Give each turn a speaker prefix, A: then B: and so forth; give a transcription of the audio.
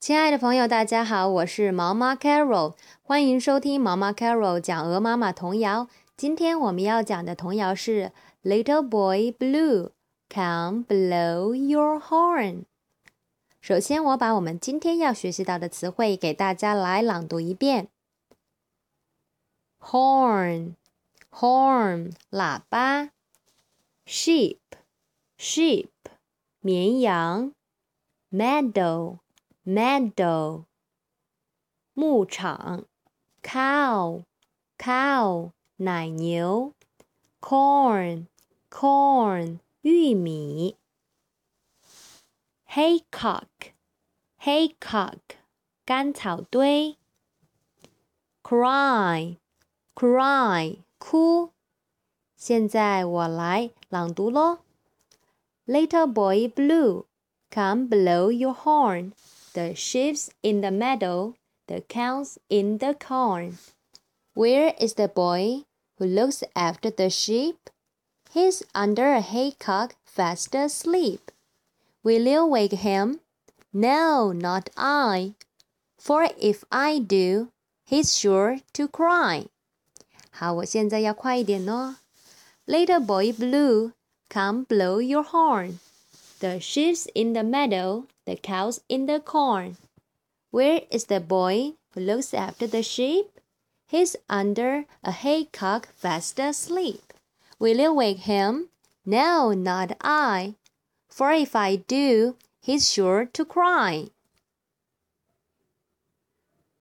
A: 亲爱的朋友，大家好，我是毛妈 Carol， 欢迎收听毛妈 Carol 讲鹅妈妈童谣。今天我们要讲的童谣是 Little Boy Blue, Come blow your horn。 首先我把我们今天要学习到的词汇给大家来朗读一遍。 Horn, horn 喇叭。 Sheep, sheep 绵羊。 Meadow, meadow 牧场。 Cow, cow 奶牛。 Corn, corn 玉米。 Haycock, haycock 干草堆。 Cry, cry 哭。现在我来朗读咯。 Little boy blue, come blow your horn. The sheep's in the meadow, the cow's in the corn. Where is the boy who looks after the sheep? He's under a haycock fast asleep. Will you wake him? No, not I. For if I do, he's sure to cry. 好，我现在要快一点哦。 Little boy blue, come blow your horn. The sheep's in the meadow, the cow's in the corn. Where is the boy who looks after the sheep? He's under a haycock fast asleep. Will you wake him? No, not I. For if I do, he's sure to cry.